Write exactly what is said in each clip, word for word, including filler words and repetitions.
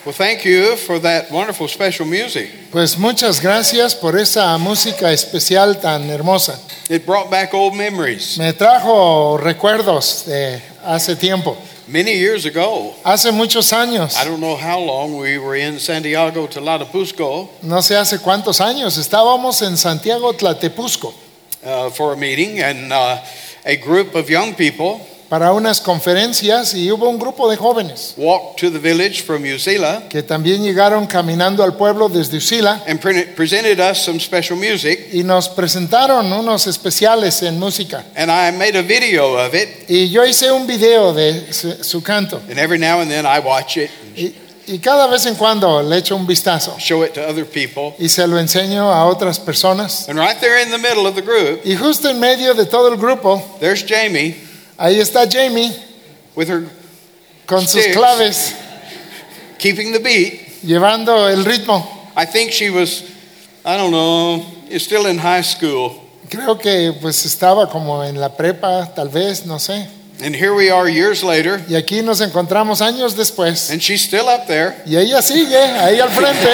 Well, thank you for that wonderful special music. Pues muchas gracias por esa música especial tan hermosa. It brought back old memories. Me trajo recuerdos de hace tiempo, Many years ago, hace muchos años. I don't know how long, we were in Santiago, Tlalnepantla, No sé hace cuántos años estábamos en Santiago Tlalnepantla uh, for a meeting, and uh, a group of young people para unas conferencias y hubo un grupo de jóvenes walked to the village from Usila que también llegaron caminando al pueblo desde Usila and pre- presented us some special music. y nos presentaron unos especiales en música. And I made a video of it, Y yo hice un video de su, su canto and every now and then I watch it and y, y cada vez en cuando le echo un vistazo show it to other people. y se lo enseño a otras personas. And right there in the middle of the group, Y justo en medio de todo el grupo, there's Jamie ahí está Jamie with her con sus Sticks. claves, keeping the beat. llevando el ritmo. I think she was, I don't know, is still in high school. Creo que pues estaba como en la prepa, tal vez, no sé. And here we are years later, Y aquí nos encontramos años después. and she's still up there. Y ella sigue ahí al frente.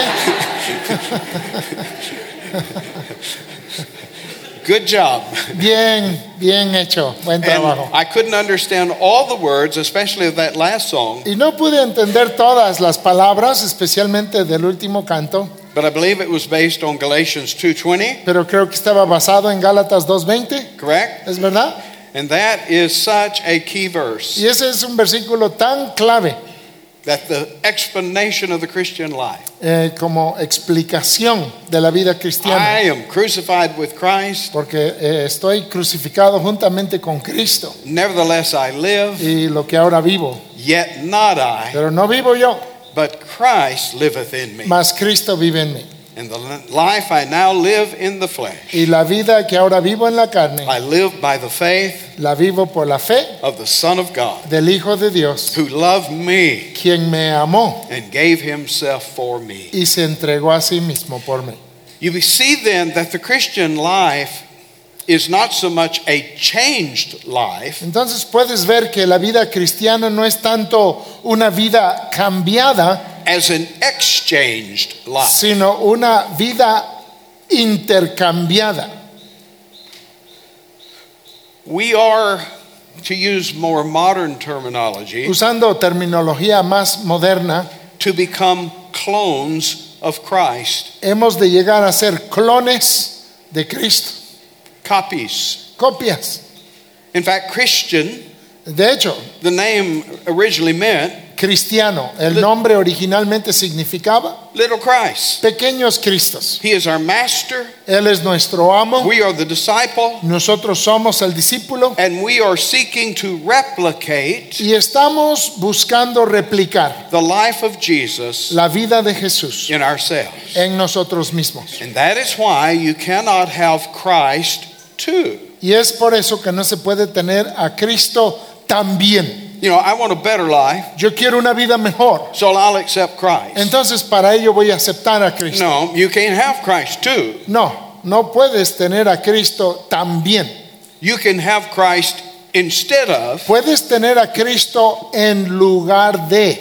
Good job. Bien, bien hecho. Buen And trabajo. I couldn't understand all the words, especially of that last song, Y no pude entender todas las palabras, especialmente del último canto, but I believe it was based on Galatians two twenty, pero creo que estaba basado en Gálatas dos veinte. correct? ¿Es verdad? And that is such a key verse, Y ese es un versículo tan clave that the explanation of the Christian life. eh, como explicación de la vida cristiana. I am crucified with Christ, Porque eh, estoy crucificado juntamente con Cristo. nevertheless I live, Y lo que ahora vivo, yet not I, pero no vivo yo, but Christ liveth in me. mas Cristo vive en mí. And the life I now live in the flesh, Y la vida que ahora vivo en la carne, I live by the faith la vivo por la fe of the Son of God, del Hijo de Dios, who loved me quien me amó and gave himself for me. y se entregó a sí mismo por mí. You see then that the Christian life is not so much a changed life Entonces puedes ver que la vida cristiana no es tanto una vida cambiada, as an exchanged life. sino una vida intercambiada. We are, to use more modern terminology, Usando terminología más moderna, to become clones of Christ, hemos de llegar a ser clones de Cristo, copies. copias. In fact, Christian, De hecho, the name originally meant cristiano, el nombre originalmente significaba little Christ. pequeños Cristos. He is our master. Él es nuestro amo, We are the disciple. nosotros somos el discípulo And we are seeking to replicate y estamos buscando replicar the life of Jesus la vida de Jesús in ourselves. en nosotros mismos. And that is why you cannot have Christ too. Y es por eso que no se puede tener a Cristo también. You know, I want a better life, Yo quiero una vida mejor, so I'll accept Christ. entonces para ello voy a aceptar a Cristo. No, you can't have Christ too. No, no puedes tener a Cristo también. You can have Christ instead of, Puedes tener a Cristo en lugar de,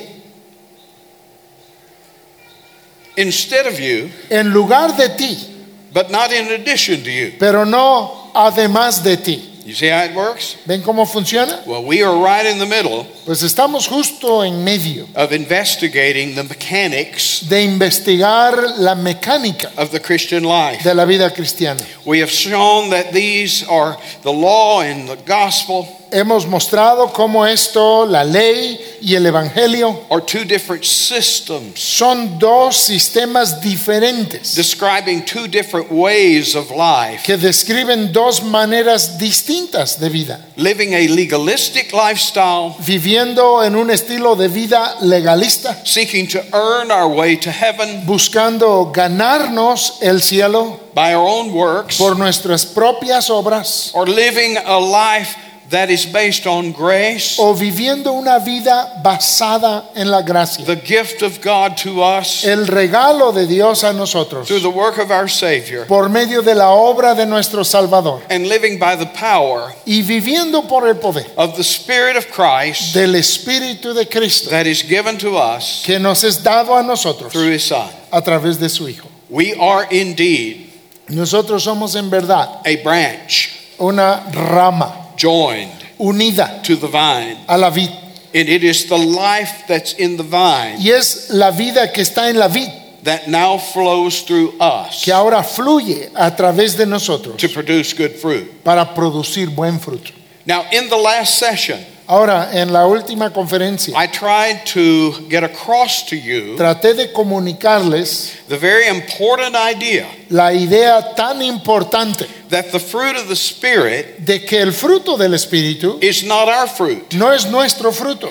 instead of you, en lugar de ti, but not in addition to you. pero no además de ti. You see how it works? ¿Ven cómo funciona? Well, we are right in the middle Pues estamos justo en medio of investigating the mechanics de investigar la mecánica of the Christian life. de la vida cristiana. We have shown that these are the law and the gospel Hemos mostrado cómo esto, la ley y el evangelio, are two different systems son dos sistemas diferentes describing two different ways of life. que describen dos maneras distintas de vida. Living a legalistic lifestyle, Viviendo en un estilo de vida legalista, seeking to earn our way to heaven buscando ganarnos el cielo by our own works, por nuestras propias obras, or living a life that is based on grace, o viviendo una vida basada en la gracia. the gift of God to us El regalo de Dios a nosotros through the work of our Savior, por medio de la obra de nuestro Salvador and living by the power y viviendo por el poder of the Spirit of Christ del Espíritu de Cristo that is given to us que nos es dado a nosotros through His Son. a través de su Hijo. We are indeed Nosotros somos en verdad a branch una rama joined unida to the vine, a la vid, and it is the life that's in the vine y es la vida que está en la vid that now flows through us que ahora fluye a través de nosotros to produce good fruit. para producir buen fruto. Now, in the last session, Ahora, en la última conferencia I tried to get across to you traté de comunicarles the very important idea la idea tan importante that the fruit of the Spirit de que el fruto del Espíritu is not our fruit. no es nuestro fruto.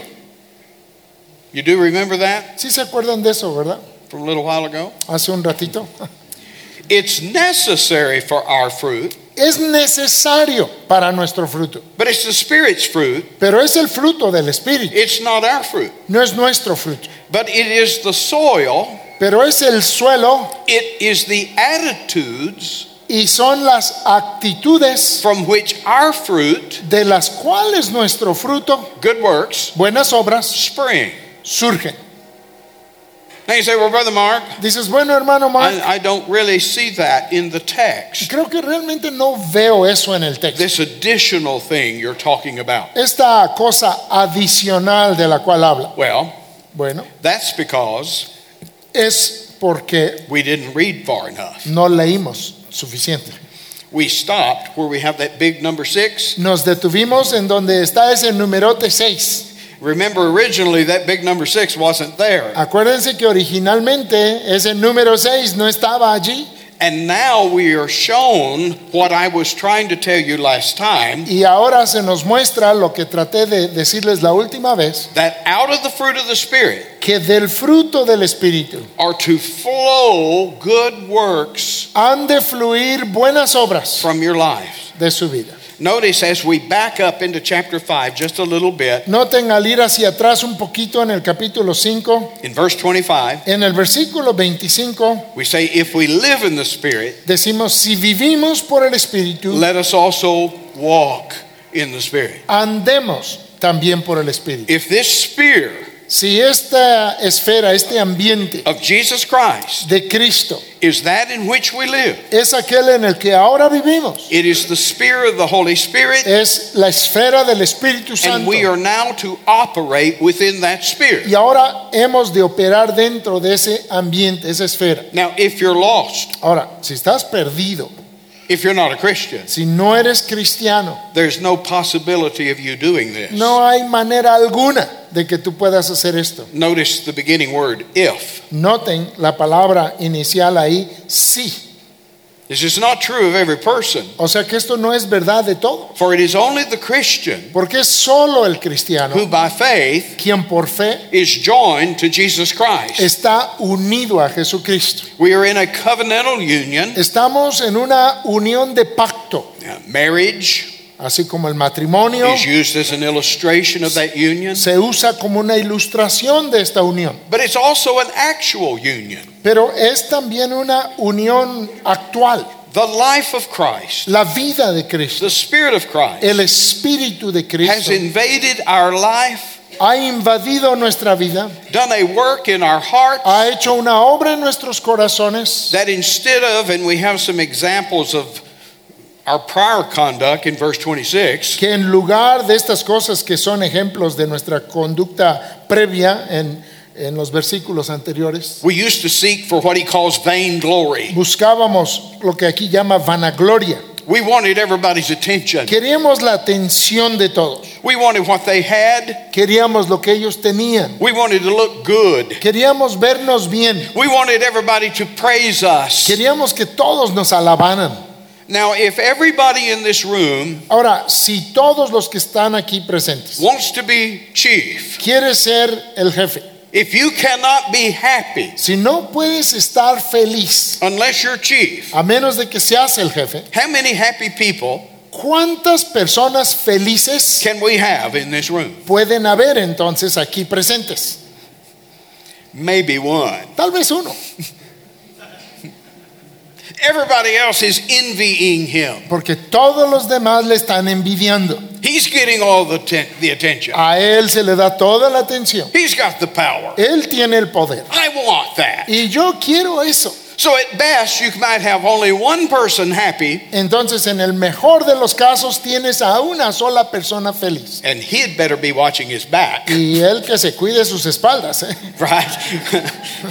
You do remember that ¿Sí se acuerdan de eso, verdad? from a little while ago? Hace un ratito. It's necessary for our fruit, Es necesario para nuestro fruto, but it's the Spirit's fruit. pero es el fruto del Espíritu, It's not our fruit, no es nuestro fruto. but it is the soil, Pero es el suelo it is the attitudes y son las actitudes from which our fruit, de las cuales nuestro fruto, good works, buenas obras, spring. surgen. Now you say, well, Brother Mark, Dices, bueno, hermano Mark, I, I don't really see that in the text. creo que realmente no veo eso en el texto. This additional thing you're talking about. Esta cosa adicional de la cual habla. Well, Bueno, that's because es porque we didn't read far enough. no leímos suficiente. We stopped where we have that big number six. Nos detuvimos en donde está ese numerote seis. Remember, originally that big number six wasn't there. Acuérdense que originalmente ese número seis no estaba allí. And now we are shown what I was trying to tell you last time, Y ahora se nos muestra lo que traté de decirles la última vez, that out of the fruit of the Spirit que del fruto del Espíritu are to flow good works han de fluir buenas obras from your life. de su vida. Notice as we back up into chapter five just a little bit, Noten al ir hacia atrás un poquito en el capítulo cinco, in verse twenty-five, en el versículo veinticinco, we say, if we live in the Spirit, decimos, si vivimos por el Espíritu, let us also walk in the Spirit. andemos también por el Espíritu. If this sphere Si esta esfera, este ambiente of Jesus Christ de Cristo is that in which we live, es aquel en el que ahora vivimos, it is the sphere of the Holy Spirit, es la esfera del Espíritu and Santo. we are now to operate within that sphere. Y ahora hemos de operar dentro de ese ambiente, esa esfera. Now, if you're lost, Ahora, si estás perdido, if you're not a Christian, si no eres cristiano, there's no possibility of you doing this. no hay manera alguna de que tú puedas hacer esto. Notice the beginning word, if. Noten la palabra inicial ahí, sí. This is not true of every person, O sea que esto no es verdad de todo, for it is only the Christian porque es solo el cristiano who by faith quien por fe is joined to Jesus Christ. está unido a Jesucristo. We are in a covenantal union. Estamos en una unión de pacto, Now, marriage así como el matrimonio is used as an illustration of that union, se usa como una ilustración de esta unión, but it's also an actual union. pero es también una unión actual. The life of Christ, La vida de Cristo, the Spirit of Christ, el Espíritu de has Cristo invaded our life, ha invadido nuestra vida, done a work in our hearts, ha hecho una obra en nuestros corazones, that instead of, and we have some examples of our prior conduct in verse twenty-six, que en lugar de estas cosas que son ejemplos de nuestra conducta previa en, en los versículos anteriores, we used to seek for what he calls vainglory. buscábamos lo que aquí llama vanagloria. We wanted everybody's attention. Queríamos la atención de todos, We wanted what they had. queríamos lo que ellos tenían, We wanted to look good. queríamos vernos bien, We wanted everybody to praise us. queríamos que todos nos alabaran. Now, if everybody in this room Ahora, si todos los que están aquí presentes wants to be chief, quiere ser el jefe, if you cannot be happy si no puedes estar feliz unless you're chief, a menos de que seas el jefe, how many happy people ¿Cuántas personas felices can we have in this room? pueden haber entonces aquí presentes? Maybe one. Tal vez uno, Everybody else is envying him. porque todos los demás le están envidiando. He's getting all the, ten- the attention. A él se le da toda la atención. He's got the power. Él tiene el poder. I want that. Y yo quiero eso. So at best, you might have only one person happy, Entonces, en el mejor de los casos, tienes a una sola persona feliz. and he'd better be watching his back, Y él que se cuide sus espaldas, ¿eh? right?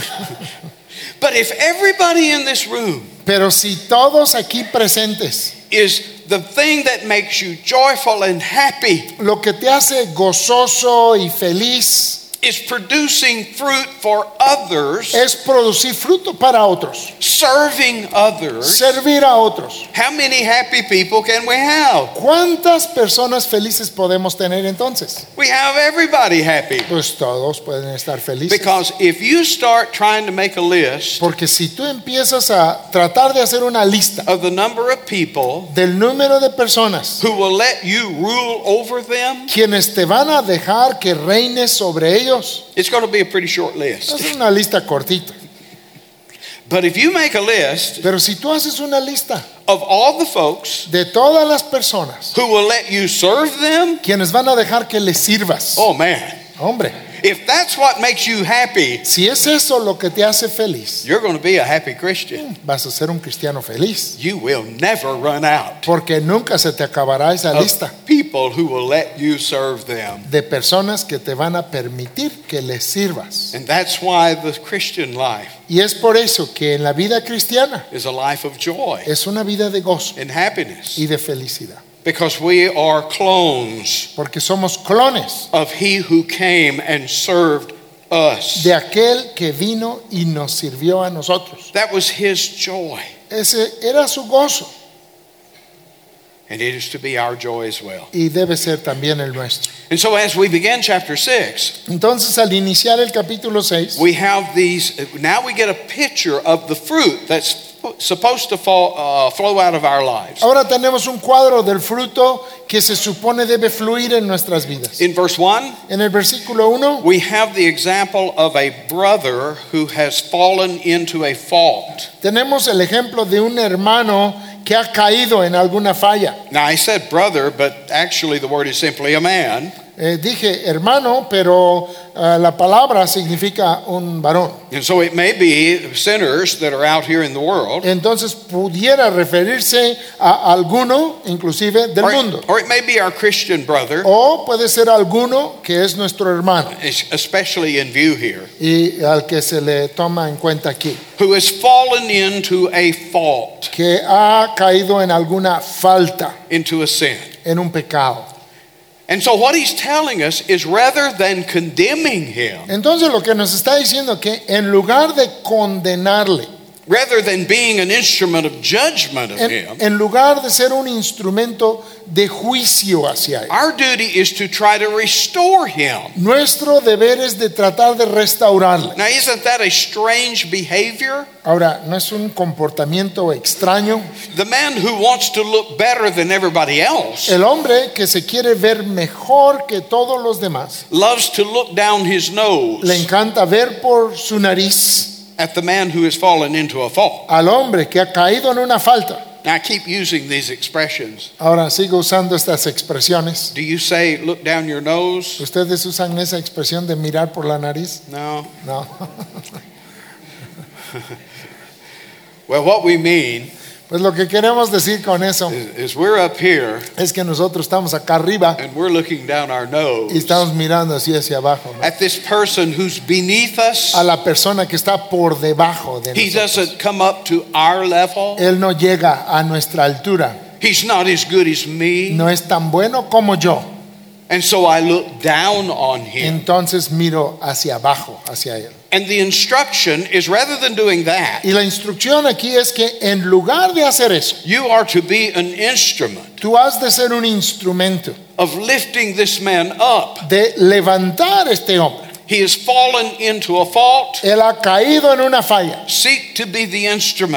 But if everybody in this room Pero si todos aquí presentes, is the thing that makes you joyful and happy, lo que te hace gozoso y feliz is producing fruit for others, es producir fruto para otros, serving others, servir a otros. how many happy people can we have? ¿Cuántas personas felices podemos tener entonces? We have everybody happy. Pues todos pueden estar felices. Because if you start trying to make a list Porque si tú empiezas a tratar de hacer una lista of the number of people del número de personas who will let you rule over them, quienes te van a dejar que reines sobre ellos, it's going to be a pretty short list. es una lista cortita. But if you make a list Pero si tú haces una lista of all the folks de todas las personas who will let you serve them, quienes van a dejar que les sirvas, oh man, hombre, if that's what makes you happy, si es eso lo que te hace feliz, you're going to be a happy Christian. vas a ser un cristiano feliz, You will never run out porque nunca se te acabará esa lista of people who will let you serve them. de personas que te van a permitir que les sirvas. And that's why the Christian life Y es por eso que en la vida cristiana is a life of joy es una vida de gozo and happiness, y de felicidad, because we are clones porque somos clones of he who came and served us. de aquel que vino y nos sirvió a nosotros. That was his joy, Ese era su gozo and it is to be our joy as well. y debe ser también el nuestro. And so as we begin chapter six, Entonces, al iniciar el capítulo seis, we have these, now we get a picture of the fruit that's supposed to fall, uh, flow out of our lives. ahora tenemos un cuadro del fruto que se supone debe fluir en nuestras vidas. In verse one, En el versículo uno we have the example of a brother who has fallen into a fault. tenemos el ejemplo de un hermano que ha caído en alguna falla. Now I said brother, but actually the word is simply a man. Eh, dije hermano, pero uh, la palabra significa un varón. And so it may be sinners that are out here in the world, Entonces pudiera referirse a alguno, inclusive del or, mundo. or it may be our Christian brother, O puede ser alguno que es nuestro hermano especially in view here, y al que se le toma en cuenta aquí, who has fallen into a fault, que ha caído en alguna falta, into a sin. en un pecado. And so what he's telling us is rather than condemning him, Entonces lo que nos está diciendo que en lugar de condenarle, rather than being an instrument of judgment of en, him, en lugar de ser un instrumento de juicio hacia él, our duty is to try to restore him. nuestro deber es de tratar de restaurarle. Now, isn't that a strange behavior? Ahora, ¿no es un comportamiento extraño? The man who wants to look better than everybody else El hombre que se quiere ver mejor que todos los demás, loves to look down his nose le encanta ver por su nariz at the man who has fallen into a fault. al hombre que ha caído en una falta. Now, I keep using these expressions. Ahora sigo usando estas expresiones. Do you say look down your nose? ¿Ustedes usan esa expresión de mirar por la nariz? No. No. Well, what we mean Pues lo que queremos decir con eso is, is we're up here es que nosotros estamos acá arriba and we're looking down our nose y estamos mirando así hacia abajo, ¿no? at this person who's beneath us. A la persona que está por debajo de He nosotros. doesn't come up to our level. Él no llega a nuestra altura, He's not as good as me. no es tan bueno como yo. And so I look down on him. Entonces miro hacia abajo, hacia él. And the instruction is rather than doing that, Y la instrucción aquí es que en lugar de hacer eso, you are to be an instrument tú has de ser un instrumento of lifting this man up. de levantar a este hombre. He has fallen into a fault. Él ha caído en una falla. Seek to be the instrument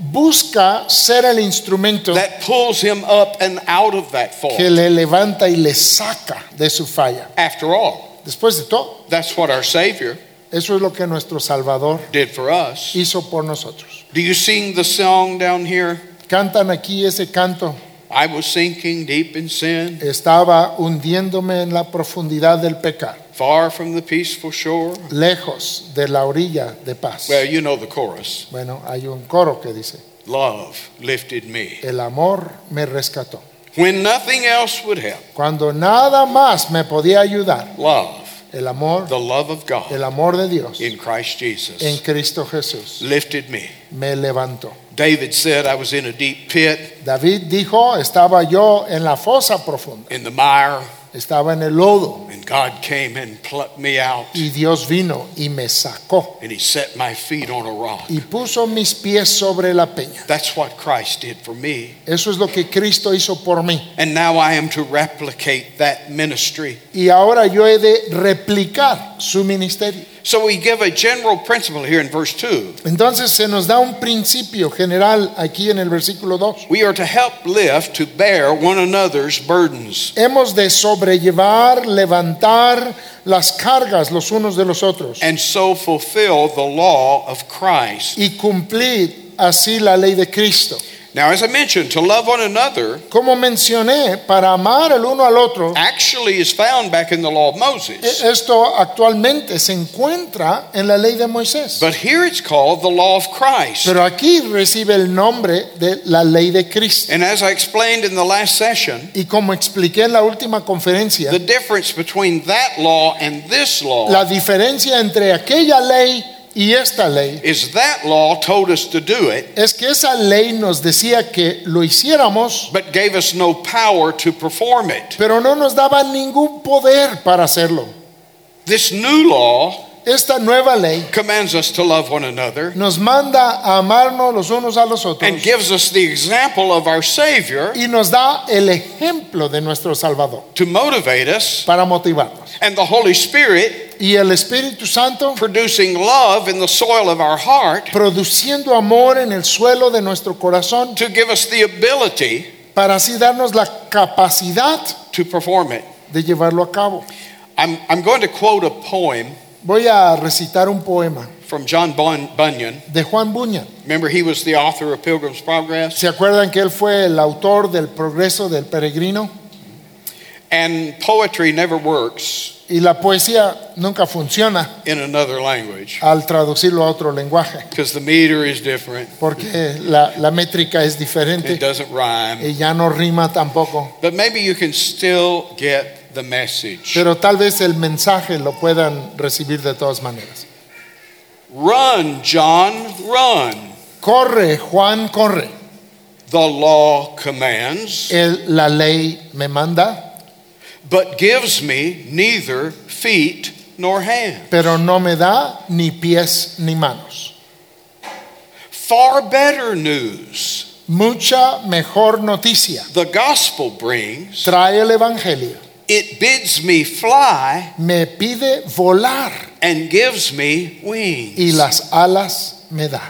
busca ser el instrumento that pulls him up and out of that fault. que le levanta y le saca de su falla. After all, Después de todo, that's what our Savior eso es lo que nuestro Salvador did for us. hizo por nosotros. Do you sing the song down here? Cantan aquí ese canto. I was sinking deep in sin, Estaba hundiéndome en la profundidad del pecado, far from the peaceful shore. lejos de la orilla de paz. Well, you know the chorus. Bueno, hay un coro que dice, Love lifted me. el amor me rescató. When nothing else would help, Cuando nada más me podía ayudar, love, el amor, the love of God el amor de Dios in Christ en Jesus, Cristo Jesús lifted me. me levantó. David said, I was in a deep pit, David dijo, estaba yo en la fosa profunda, in the mire, estaba en el lodo, and God came and plucked me out, y Dios vino y me sacó and he set my feet on a rock. y puso mis pies sobre la peña. That's what Christ did for me. Eso es lo que Cristo hizo por mí. And now I am to replicate that ministry. Y ahora yo he de replicar su ministerio. So we give a general principle here in verse two. Entonces se nos da un principio general aquí en el versículo dos. We are to help lift, to bear one another's burdens. Hemos de sobrellevar, levantar las cargas los unos de los otros And so fulfill the law of Christ. y cumplir así la ley de Cristo. Now, as I mentioned, to love one another Como mencioné, para amar el uno al otro, actually is found back in the law of Moses. esto actualmente se encuentra en la ley de Moisés. But here it's called the law of Christ. Pero aquí recibe el nombre de la ley de Cristo. And as I explained in the last session, Y como expliqué en la última conferencia, the difference between that law and this law la diferencia entre aquella ley y esta ley is that law told us to do it, es que esa ley nos decía que lo hiciéramos, but gave us no power to perform it. pero no nos daba ningún poder para hacerlo. This new law Esta nueva ley commands us to love one another nos manda a amarnos los unos a los otros and gives us the example of our Savior y nos da el ejemplo de nuestro Salvador to motivate us, para motivarnos. and the Holy Spirit Y el Espíritu Santo producing love in the soil of our heart produciendo amor en el suelo de nuestro corazón to give us the ability para así darnos la capacidad to perform it. de llevarlo a cabo. I'm, I'm going to quote a poem Voy a recitar un poema from John Bun- Bunyan. de Juan Bunyan. Remember, he was the author of Pilgrim's Progress. ¿Se acuerdan que él fue el autor del Progreso del Peregrino? And poetry never works Y la poesía nunca funciona in another language al traducirlo a otro lenguaje, because the meter is different. porque la, la métrica es It diferente doesn't rhyme. y ya no rima tampoco. But maybe you can still get the message. Pero tal vez el mensaje lo puedan recibir de todas maneras. Run, John, run. Corre, Juan, corre. The law commands, El- la ley me manda, but gives me neither feet nor hands. pero no me da ni pies ni manos. Far better news. Mucha mejor noticia The gospel brings, trae el Evangelio. it bids me fly Me pide volar and gives me wings. y las alas me da.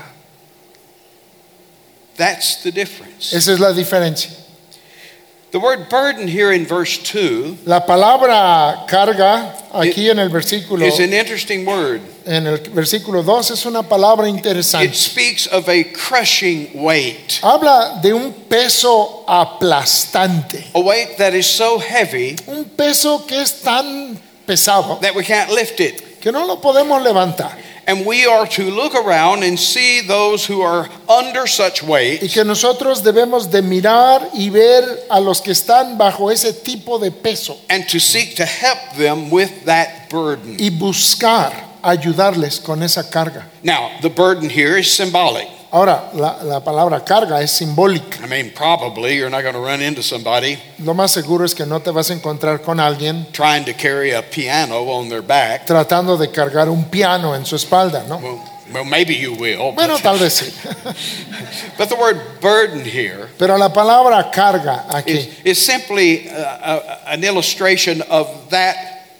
That's the difference. Esa es la diferencia. The word burden here in verse two La palabra carga aquí en el versículo is an interesting word. en el versículo dos es una palabra It interesante. speaks of a crushing weight, Habla de un peso aplastante, a weight that is so heavy un peso que es tan pesado that we can't lift it. que no lo podemos levantar. And we are to look around and see those who are under such Y weight que nosotros debemos de mirar y ver a los que están bajo ese tipo de peso and to seek to help them with that burden. y buscar ayudarles con esa carga. Now, the burden here is symbolic. Ahora, la, la palabra carga es simbólica. I mean, probably you're not going to run into somebody Lo más seguro es que no te vas a encontrar con alguien trying to carry a piano on their back. tratando de cargar un piano en su espalda, ¿no? Well, well maybe you will. Bueno, But, tal vez sí. but the word burden here Pero la palabra carga aquí is, is simply uh, a, an illustration of that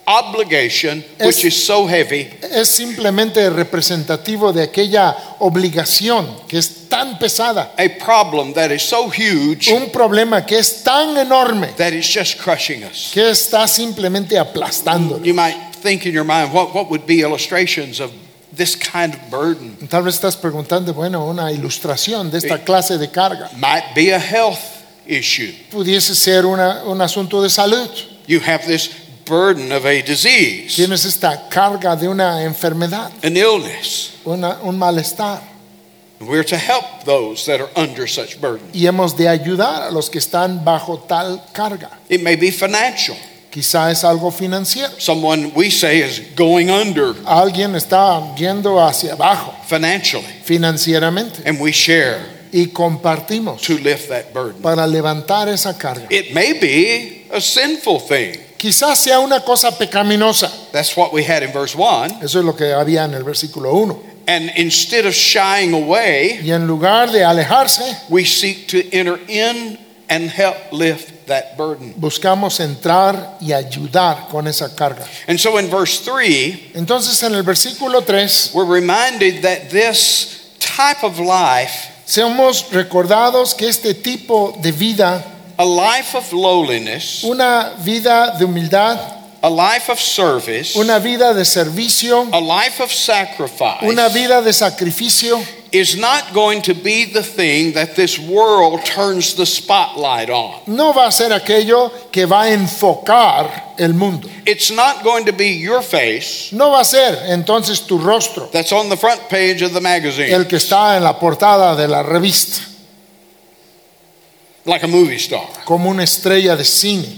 obligation Es- which is so heavy Es simplemente representativo de aquella obligación que es tan pesada, a problem that is so huge un problema que es tan enorme that it's just crushing us. que está simplemente aplastando. You might think in your mind, what, what would be illustrations of this kind of burden? Tal vez estás preguntando, bueno, una ilustración de esta clase de carga. Might be a health issue. Pudiese ser una- un asunto de salud. You have this burden of a disease, Tienes esta carga de una enfermedad, an illness. una- un malestar. We're to help those that are under such burden. Y hemos de ayudar a los que están bajo tal carga. It may be financial. Quizá es algo financiero. Someone we say is going under Alguien está yendo hacia abajo financially, financieramente and we share y compartimos to lift that burden. para levantar esa carga. It may be a sinful thing. Quizás sea una cosa pecaminosa. That's what we had in verse one. Eso es lo que había en el versículo uno. And instead of shying away, Y en lugar de alejarse, we seek to enter in and help lift that burden. buscamos entrar y ayudar con esa carga. And so in verse three, Entonces en el versículo tres we're reminded that this type of life, seamos recordados que este tipo de vida, a life of lowliness, una vida de humildad, a life of service, una vida de servicio, a life of sacrifice, una vida de sacrificio, is not going to be the thing that this world turns the spotlight on. no va a ser aquello que va a enfocar el mundo. It's not going to be your face No va a ser entonces tu rostro that's on the front page of the magazine, el que está en la portada de la revista, like a movie star. como una estrella de cine.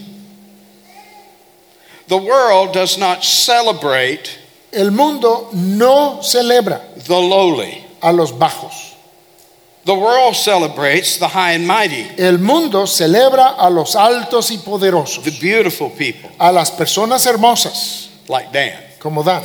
The world does not celebrate El mundo no celebra the lowly. a los bajos. The world celebrates the high and mighty, El mundo celebra a los altos y poderosos, the beautiful people, a las personas hermosas, like Dan, como Dan,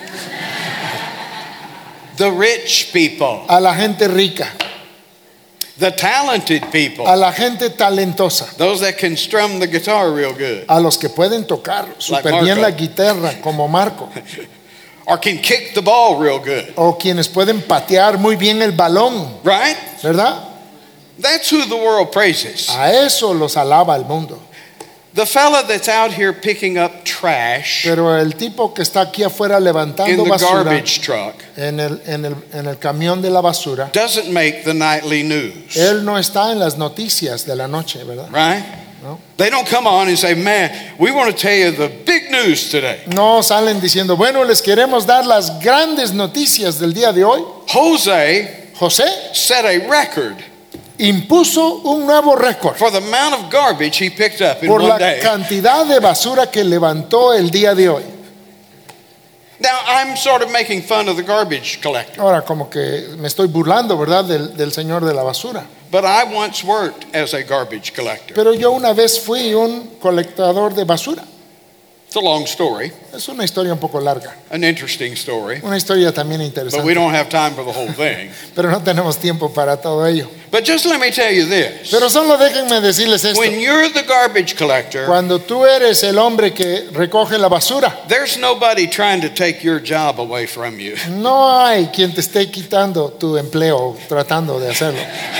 the rich people, a la gente rica, the talented people, a la gente talentosa, those that can strum the guitar real good, a los que pueden tocar súper bien Marco. la guitarra, como Marco, or can kick the ball real good, o quienes pueden patear muy bien el balón, right? ¿verdad? That's who the world praises. A eso los alaba el mundo. The fella that's out here picking up trash Pero el tipo que está aquí afuera in levantando the basura garbage truck en el, en el, en el camión de la basura, doesn't make the nightly news, él no está en las noticias de la noche, ¿verdad? right? No. They don't come on and say, man, we want to tell you the big news today. No salen diciendo, bueno, les queremos dar las grandes noticias del día de hoy. Jose José set a record impuso un nuevo récord for the amount of garbage he picked up in por one la day. cantidad de basura que levantó el día de hoy. Now, I'm sort of making fun of the garbage collector, Ahora, como que me estoy burlando, ¿verdad? Del, del señor de la basura. but I once worked as a garbage collector. Pero yo una vez fui un colectador de basura. It's a long story, Es una historia un poco larga, an interesting story, una historia también but we interesante. don't have time for the whole thing. Pero no tenemos tiempo para todo ello. But just let me tell you this. Pero solo déjenme decirles esto. When you're the garbage collector, Cuando tú eres el hombre que recoge la basura, there's nobody trying to take your job away from you. no hay quien te esté quitando tu empleo tratando de hacerlo.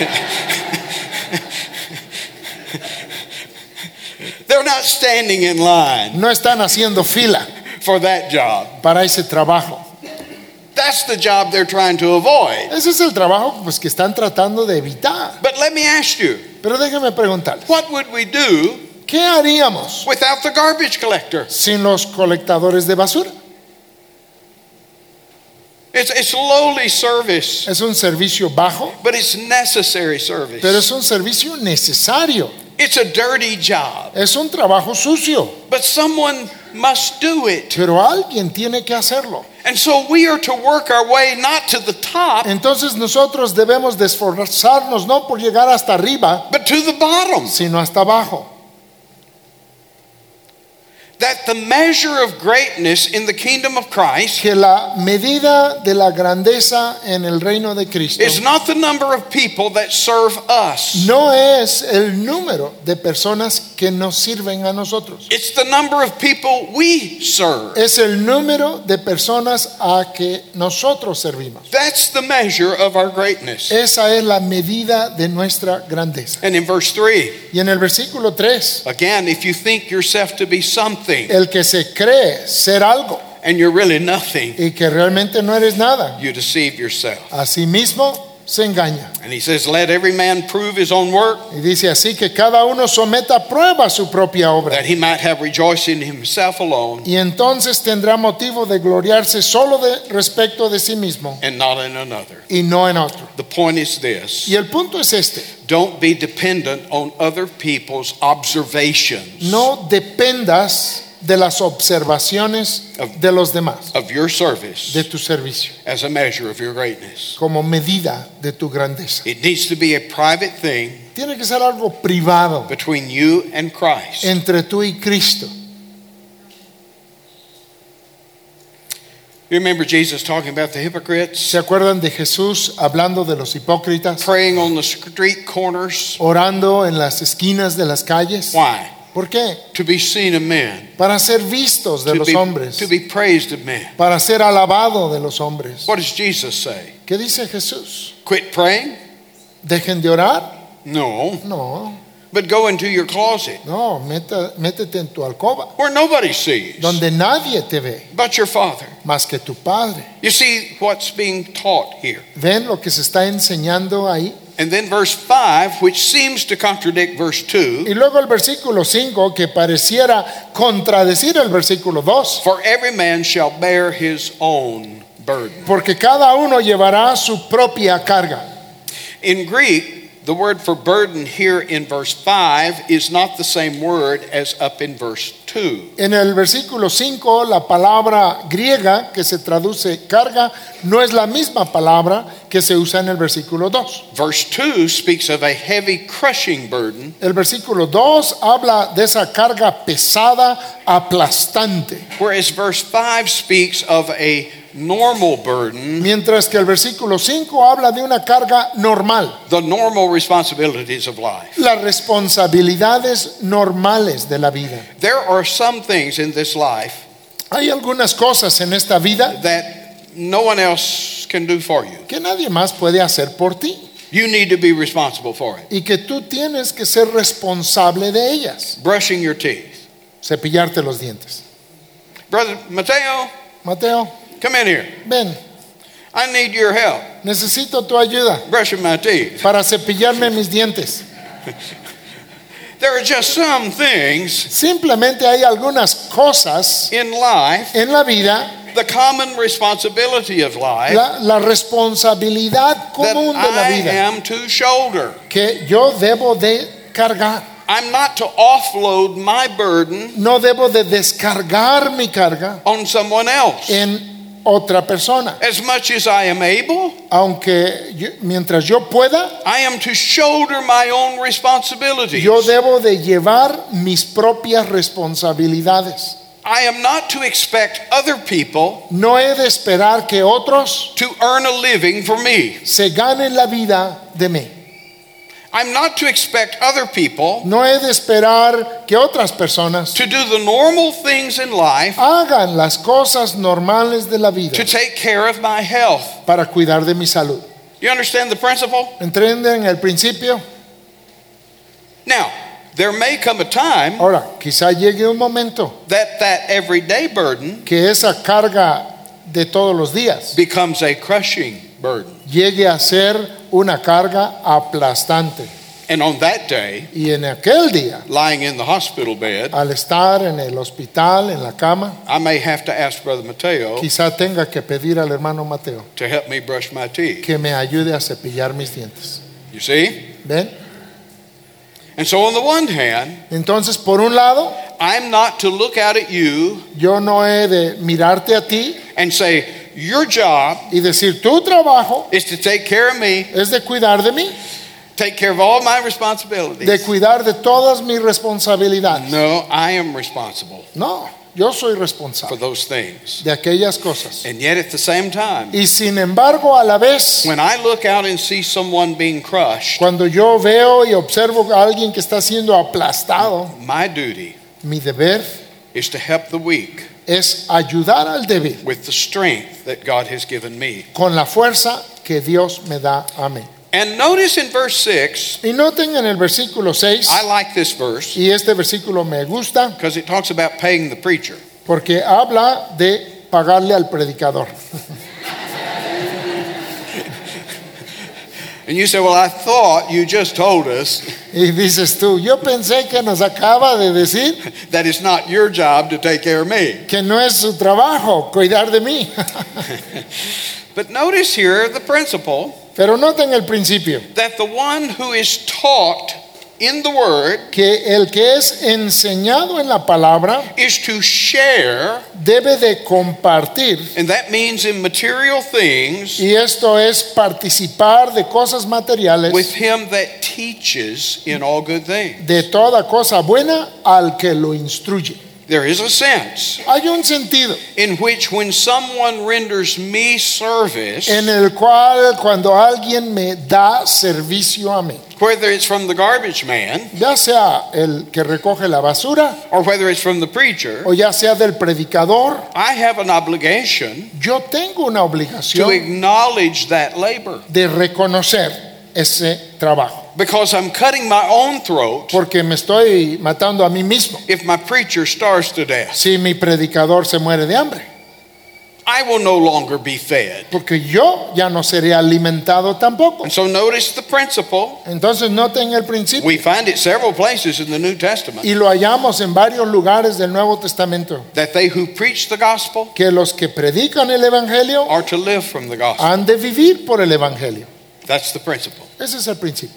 They're not standing in line No están haciendo fila for that job. para ese trabajo. That's the job they're trying to avoid. Ese es el trabajo pues, que están tratando de evitar. But let me ask you, Pero déjenme preguntarles, what would we do ¿qué haríamos without the garbage collector? sin los colectadores de basura? It's, it's lowly service, Es un servicio bajo, but it's necessary service. pero es un servicio necesario. It's a dirty job, Es un trabajo sucio, but someone must do it. pero alguien tiene que hacerlo. And so we are to work our way not to the top, Entonces nosotros debemos de esforzarnos no por llegar hasta arriba, but to the bottom. sino hasta abajo. that the measure of greatness in the kingdom of Christ que la medida de la grandeza en el reino de Cristo is not the number of people that serve us. no es el número de personas que nos sirven a nosotros. It's the number of people we serve. Es el número de personas a que nosotros servimos. That's the measure of our greatness. Esa es la medida de nuestra grandeza. And in verse three, Y en el versículo tres, again, if you think yourself to be something el que se cree ser algo and you're really nothing, y que realmente no eres nada, you deceive yourself. a sí mismo se engaña. And he says, let every man prove his own work, Y dice así que cada uno someta a prueba su propia obra. that he might have rejoicing in himself alone Y entonces tendrá motivo de gloriarse solo de respecto de sí mismo and not in another. y no en otro. The point is this: Y el punto es este: don't be dependent on other people's observations no dependas de las observaciones de los demás, of your service de tu servicio, as a measure of your greatness. como medida de tu grandeza. It needs to be a private thing Tiene que ser algo privado between you and Christ. entre tú y Cristo. You remember Jesus talking about the hypocrites ¿Se acuerdan de Jesús hablando de los hipócritas, praying on the street corners? orando en las esquinas de las calles? Why? ¿Por qué? To be seen of men, Para ser vistos de to los be, hombres, to be praised of men. para ser alabado de los hombres. What does Jesus say? ¿Qué dice Jesús? Quit praying? ¿Dejen de orar? No. No, But go into your closet no, meta- métete en tu alcoba, where nobody sees donde nadie te ve, but your Father. más que tu Padre. You see what's being taught here. ¿Ven lo que se está enseñando ahí? And then verse five, which seems to contradict verse two, Y luego el versículo cinco, que pareciera contradecir el versículo dos. for every man shall bear his own burden. Porque cada uno llevará su propia carga. In Greek, the word for burden here in verse five is not the same word as up in verse two. En el versículo cinco, la palabra griega que se traduce carga no es la misma palabra que se usa en el versículo dos. Verse two speaks of a heavy crushing burden, El versículo dos habla de esa carga pesada, aplastante, whereas verse five speaks of a normal burden, mientras que el versículo cinco habla de una carga normal, the normal responsibilities of life. las responsabilidades normales de la vida. There are some things in this life Hay algunas cosas en esta vida that no one else can do for you. que nadie más puede hacer por ti You need to be responsible for it. y que tú tienes que ser responsable de ellas. Brushing your teeth. Cepillarte los dientes. Brother Mateo, Mateo, come in here. ven, I need your help necesito tu ayuda brushing my teeth. para cepillarme mis dientes. There are just some things Simplemente hay algunas cosas in life, en la vida, the common responsibility of life, la, la responsabilidad that común de la I vida am to shoulder. que yo debo de cargar. I'm not to offload my burden No debo de descargar mi carga on someone else. en otra persona. As much as I am able, Aunque yo- mientras yo pueda, I am to shoulder my own responsibilities. yo debo de llevar mis propias responsabilidades. I am not to expect other people No he de esperar que otros to earn a living for me. se ganen la vida de mí. I'm not to expect other people No he de esperar que otras personas to do the normal things in life hagan las cosas normales de la vida to take care of my health. para cuidar de mi salud. You understand the principle? ¿Entienden el principio? Now, there may come a time Ahora, quizá llegue un momento that that everyday burden que esa carga de todos los días becomes a crushing burden. llegue a ser una carga aplastante. And on that day, Y en aquel día, lying in the hospital bed, al estar en el hospital, en la cama, I may have to ask Brother Mateo quizá tenga que pedir al hermano Mateo to help me brush my teeth. que me ayude a cepillar mis dientes. You see? ¿Ven? And so on the one hand, Entonces, por un lado, I'm not to look out at you yo no he de mirarte a ti and say, your job y decir, tu trabajo is to take care of me es de cuidar de mí take care of all my de responsibilities. cuidar de todas mis responsabilidades. No, I am responsible No, yo soy for responsable those things. de aquellas cosas. And yet at the same time, Y sin embargo, a la vez, when I look out and see someone being crushed, cuando yo veo y observo a alguien que está siendo aplastado, my duty mi deber is to help the weak es ayudar al débil with the strength that God has given me. con la fuerza que Dios me da a mí. And notice in verse six, Y noten en el versículo seis, I like this verse y este versículo me gusta because it talks about paying the preacher. porque habla de pagarle al predicador. And you say, well, I thought you just told us Y dices tú, yo pensé que nos acaba de decir that it's not your job to take care of me. que no es su trabajo cuidar de mí. But notice here the principle Pero noten el principio, that the one who is taught in the word que el que es enseñado en la palabra is to share, debe de compartir, and that means in material things, y esto es participar de cosas materiales, with him that teaches in all good things. de toda cosa buena al que lo instruye. There is a sense Hay un sentido in which when someone renders me service, en el cual cuando alguien me da servicio a mí, whether it's from the garbage man ya sea el que recoge la basura or whether it's from the preacher, o ya sea del predicador, I have an obligation yo tengo una to obligación acknowledge that labor de reconocer ese trabajo, because I'm cutting my own throat porque me estoy matando a mí mismo. if my preacher starves to death. Si mi predicador se muere de hambre, I will no longer be fed. porque yo ya no seré alimentado tampoco. And so notice the principle. Entonces noten el principio, We find it several places in the New Testament y lo hallamos en varios lugares del Nuevo Testamento, that they who preach the gospel que los que predican el Evangelio are to live from the gospel. han de vivir por el Evangelio. That's the principle. Ese es el principio.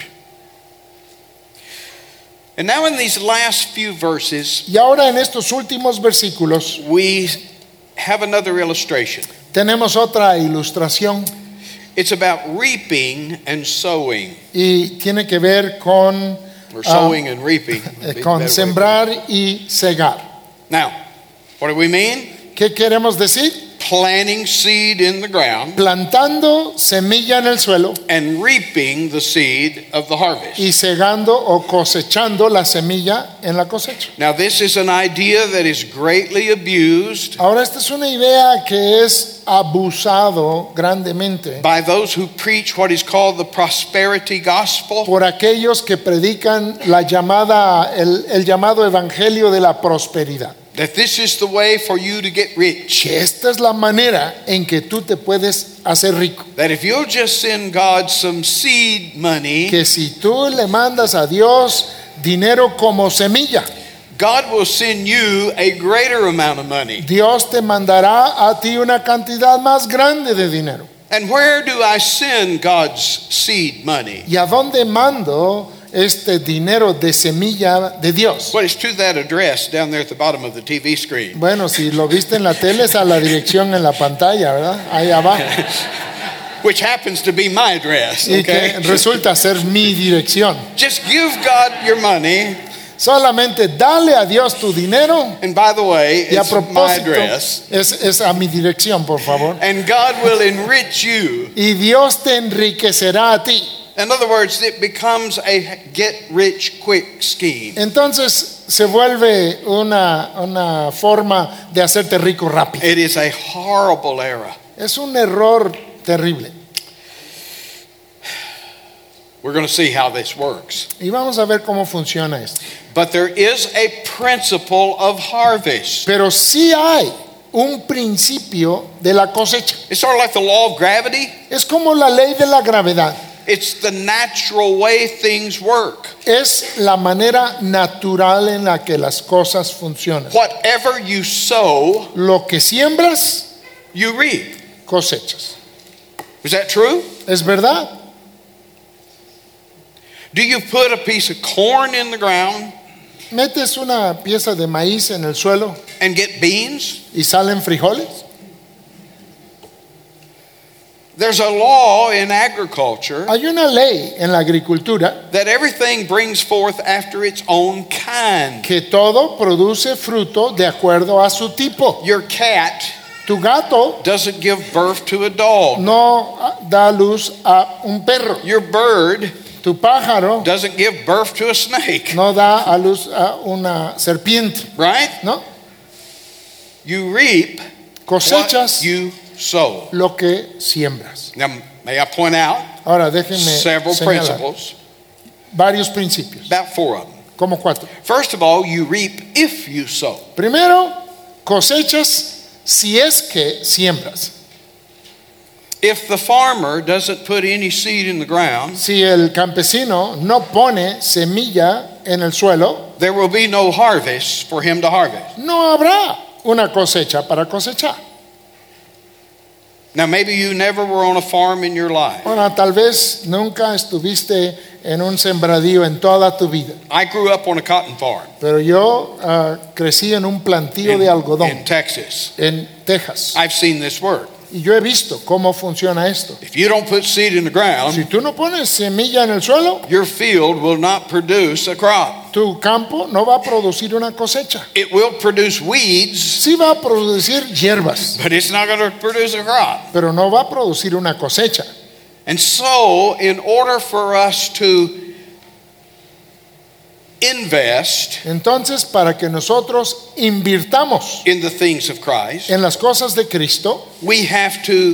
And now in these last few verses, Y ahora en estos últimos versículos we have another illustration. tenemos otra ilustración It's about reaping and sowing, y tiene que ver con, or ah, sowing and reaping. would be the con better way. sembrar y cegar. Now, what do we mean? ¿Qué queremos decir? Planting seed in the ground Plantando semilla en el suelo and reaping the seed of the harvest. y cegando o cosechando la semilla en la cosecha. Now, this is an idea that is greatly abused Ahora, esta es una idea que es abusado grandemente by those who preach what is called the prosperity gospel. por aquellos que predican la llamada, el, el llamado evangelio de la prosperidad. That this is the way for you to get rich. Que esta es la manera en que tú te puedes hacer rico. That if you'll just send God some seed money, Que si tú le mandas a Dios dinero como semilla, God will send you a greater amount of money. Dios te mandará a ti una cantidad más grande de dinero. And where do I send God's seed money? ¿Y a dónde mando este dinero de semilla de Dios? Well, it's to that address down there at the bottom of the T V screen. Bueno, si lo viste en la tele es a la dirección en la pantalla, ¿verdad? Ahí abajo. Which happens to be my address, Y que okay? resulta ser mi dirección. Just give God your money. Solamente dale a Dios tu dinero. And by the way, Y a it's my propósito, address. es, es a mi dirección, por favor. And God will enrich you. Y Dios te enriquecerá a ti. In other words, it becomes a get rich quick scheme. Entonces se vuelve una, una forma de hacerte rico rápido. It is a horrible error. Es un error terrible. We're going to see how this works. Y vamos a ver cómo funciona esto. But there is a principle of harvest. Pero sí hay un principio de la cosecha. It's sort of like the law of gravity. Es como la ley de la gravedad. It's the natural way things work. Es la manera natural en la que las cosas funcionan. Whatever you sow, Lo que siembras, you reap. cosechas. Is that true? ¿Es verdad? Do you put a piece of corn in the ground Metes una pieza de maíz en el suelo and get beans? y salen frijoles. There's a law in agriculture Hay una ley en la agricultura that everything brings forth after its own kind. que todo produce fruto de acuerdo a su tipo. Your cat Tu gato doesn't give birth to a dog. no da luz a un perro. Your bird Tu pájaro doesn't give birth to a snake, no da a luz a una serpiente, right? ¿no? You reap Cosechas what you sow. lo que siembras. Now, may I point out Ahora déjenme several señalar principles, varios principios, about four of them. como cuatro. First of all, you reap if you sow. Primero, cosechas si es que siembras. If the farmer doesn't put any seed in the ground, Si el campesino no pone semilla en el suelo, there will be no harvest for him to harvest. no habrá una cosecha para cosechar. Now, maybe you never were on a farm in your life. Bueno, tal vez nunca estuviste en un sembradío en toda tu vida, I grew up on a cotton farm pero yo ah, crecí en un plantío in, de algodón in Texas. en Texas I've seen this work. y yo he visto cómo funciona esto. If you don't put seed in the Si ground, tú no pones semilla en el suelo, your field will not produce a crop. tu campo no va a producir una cosecha. It will produce weeds, Sí va a producir hierbas, but it's not going to produce a crop. pero no va a producir una cosecha. And so, in order for us to invest Entonces, para que nosotros invirtamos in the things of Christ, en las cosas de Cristo, we have to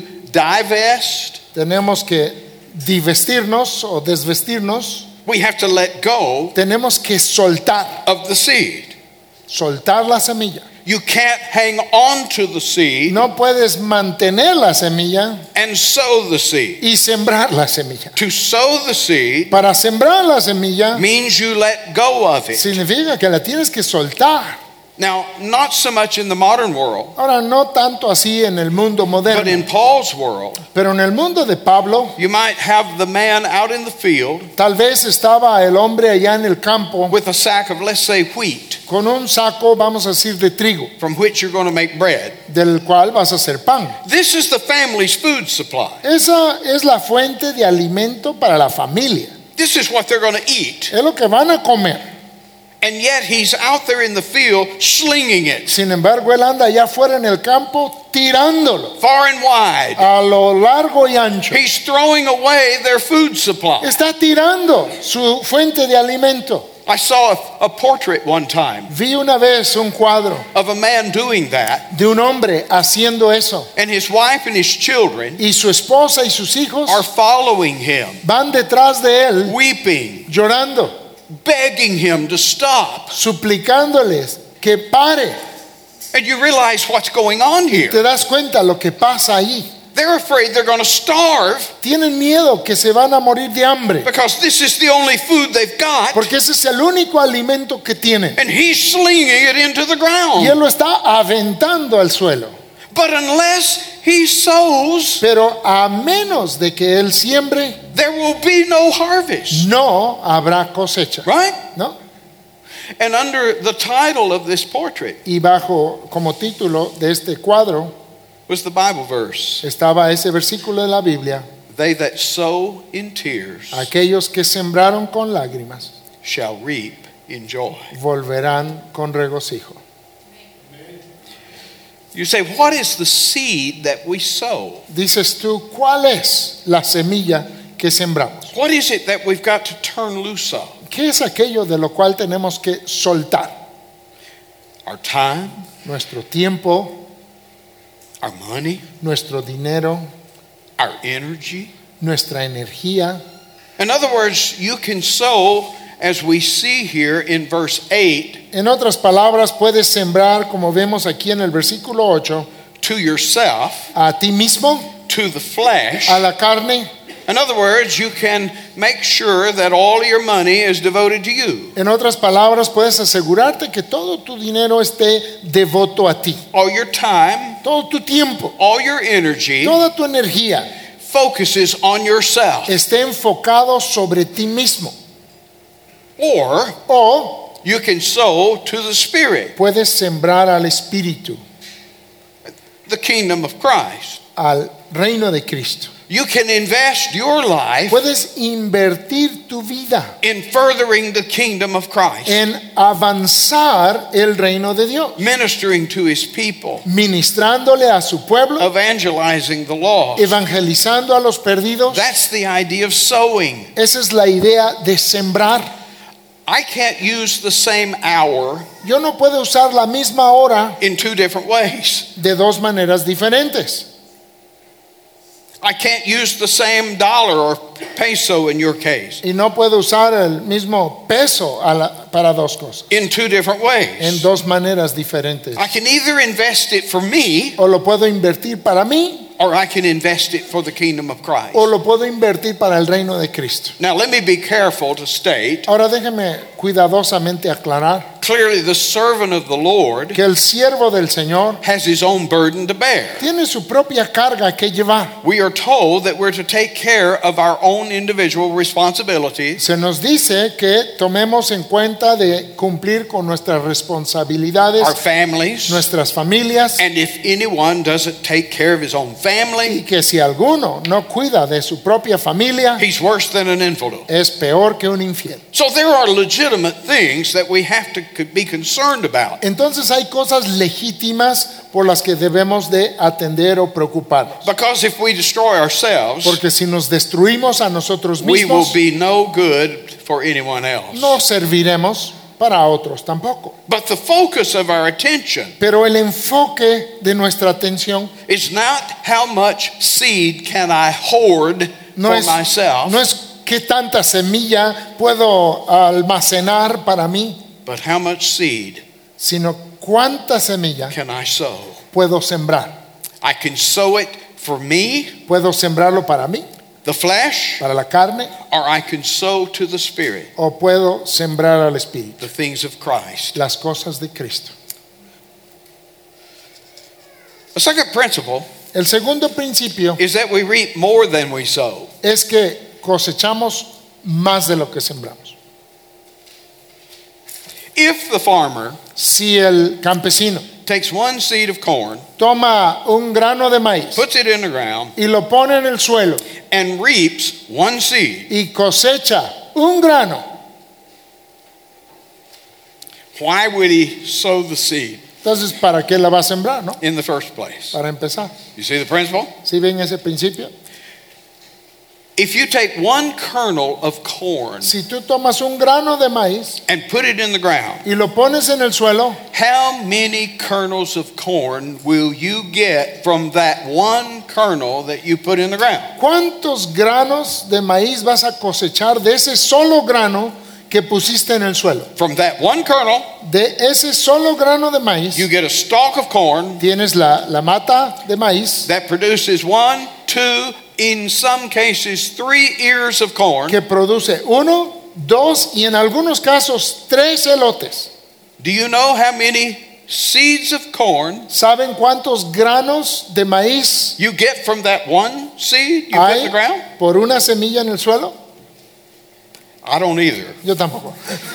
divest, tenemos que divestirnos o desvestirnos, we have to let go tenemos que soltar, of the seed. soltar la semilla. You can't hang on to the seed No puedes mantener la semilla and sow the seed. y sembrar la semilla. To sow the seed Para sembrar la semilla means you let go of it. significa que la tienes que soltar. Now, not so much in the modern world, Ahora, no tanto así en el mundo but moderno, in Paul's world, pero en el mundo de Pablo, you might have the man out in the field tal vez estaba el hombre allá en el campo with a sack of, let's say, wheat, con un saco, vamos a decir, de trigo, from which you're going to make bread. del cual vas a hacer pan. This is the family's food supply. Esa es la fuente de alimento para la familia. This is what they're going to eat. Es lo que van a comer. And yet he's out there in the field slinging it Sin embargo, él anda allá afuera en el campo tirándolo far and wide. a lo largo y ancho. He's throwing away their food supply. Está tirando su fuente de alimento. I saw a, a portrait one time Vi una vez un cuadro of a man doing that, de un hombre haciendo eso and his wife and his children y su esposa y sus hijos are following him, van detrás de él weeping, llorando, begging him to stop. suplicándoles que pare. And you realize what's going on here. Te das cuenta lo que pasa ahí. They're afraid they're going to starve Tienen miedo que se van a morir de hambre because this is the only food they've got, porque ese es el único alimento que tienen and he's slinging it into the y él ground. lo está aventando al suelo. But unless he sows, Pero a menos de que él siembre, there will be no harvest, no habrá cosecha, right? ¿no? And under the title of this portrait Y bajo como título de este cuadro was the Bible verse, estaba ese versículo de la Biblia: they that sow in tears aquellos que sembraron con lágrimas shall reap in joy. volverán con regocijo. You say, what is the seed that we sow? Dices tú, ¿cuál es la semilla que sembramos? What is it that we've got to turn loose of? ¿Qué es aquello de lo cual tenemos que soltar? Our time, Nuestro tiempo, our money, nuestro dinero, our energy. nuestra energía. In other words, you can sow, as we see here in verse eight, En otras palabras, puedes sembrar, como vemos aquí en el versículo ocho, to yourself, a ti mismo, to the flesh. a la carne. In other words, you can make sure that all your money is devoted to you. En otras palabras, puedes asegurarte que todo tu dinero esté devoto a ti. All your time, Todo tu tiempo, all your energy toda tu energía focuses on yourself. esté enfocado sobre ti mismo. Or O you can sow to the Spirit, puedes sembrar al Espíritu, the kingdom of Christ. al reino de Cristo. You can invest your life Puedes invertir tu vida in furthering the kingdom of Christ, en avanzar el reino de Dios, ministering to his people, ministrándole a su pueblo, evangelizing the lost. evangelizando a los perdidos. That's the idea of sowing. Esa es la idea de sembrar. I can't use the same hour Yo no puedo usar la misma hora in two different ways. de dos maneras diferentes. I can't use the same dollar or peso in your case Y no puedo usar el mismo peso a la- para dos cosas, in two different en ways. dos maneras diferentes. I can either invest it for me O lo puedo invertir para mí or I can invest it for the kingdom of Christ. o lo puedo invertir para el reino de Cristo. Now, let me be careful to state Ahora déjeme cuidadosamente aclarar clearly the servant of the Lord que el siervo del Señor has his own burden to bear. tiene su propia carga que llevar. We are told that we're to take care of our own individual responsibilities, Se nos dice que tomemos en cuenta de cumplir con nuestras responsabilidades, our families, nuestras familias, and if anyone doesn't take care of his own y family, que si alguno no cuida de su propia familia, he's worse than an infidel. es peor que un infiel. So there are legitimate things that we have to be concerned about. Entonces hay cosas legítimas por las que debemos de atender o preocuparnos. Because if we destroy ourselves, Porque si nos destruimos a nosotros we will mismos, be no good for anyone else. no serviremos para otros tampoco. But the focus of our attention Pero el enfoque de nuestra atención is not how much seed can I hoard no for es, myself, no es qué tanta semilla puedo almacenar para mí, but how much seed sino cuánta semilla can I sow. puedo sembrar. I can sow it for me, Puedo sembrarlo para mí, the flesh, para la carne, or I can sow to the Spirit, o puedo sembrar al Espíritu, the things of Christ. las cosas de Cristo. The second principle El segundo principio is that we reap more than we sow. es que cosechamos más de lo que sembramos. If the farmer Si el campesino takes one seed of corn, toma un grano de maíz puts it in the ground, y lo pone en el suelo and reaps one seed, y cosecha un grano, why would he sow the seed entonces ¿para qué la va a sembrar, no? in the first place? Para empezar. You see the principle? ¿Sí ven ese principio? If you take one kernel of corn Si tú tomas un grano de maíz and put it in the ground, y lo pones en el suelo, how many kernels of corn will you get from that one kernel that you put in the ground? ¿cuántos granos de maíz vas a cosechar de ese solo grano que pusiste en el suelo? From that one kernel, De ese solo grano de maíz you get a stalk of corn tienes la, la mata de maíz that produces one, two, in some cases, three ears of corn. que produce uno, dos y en algunos casos tres elotes. Do you know how many seeds of corn ¿Saben cuántos granos de maíz you get from that one seed you put in hay the ground? por una semilla en el suelo? I don't either. Yo tampoco.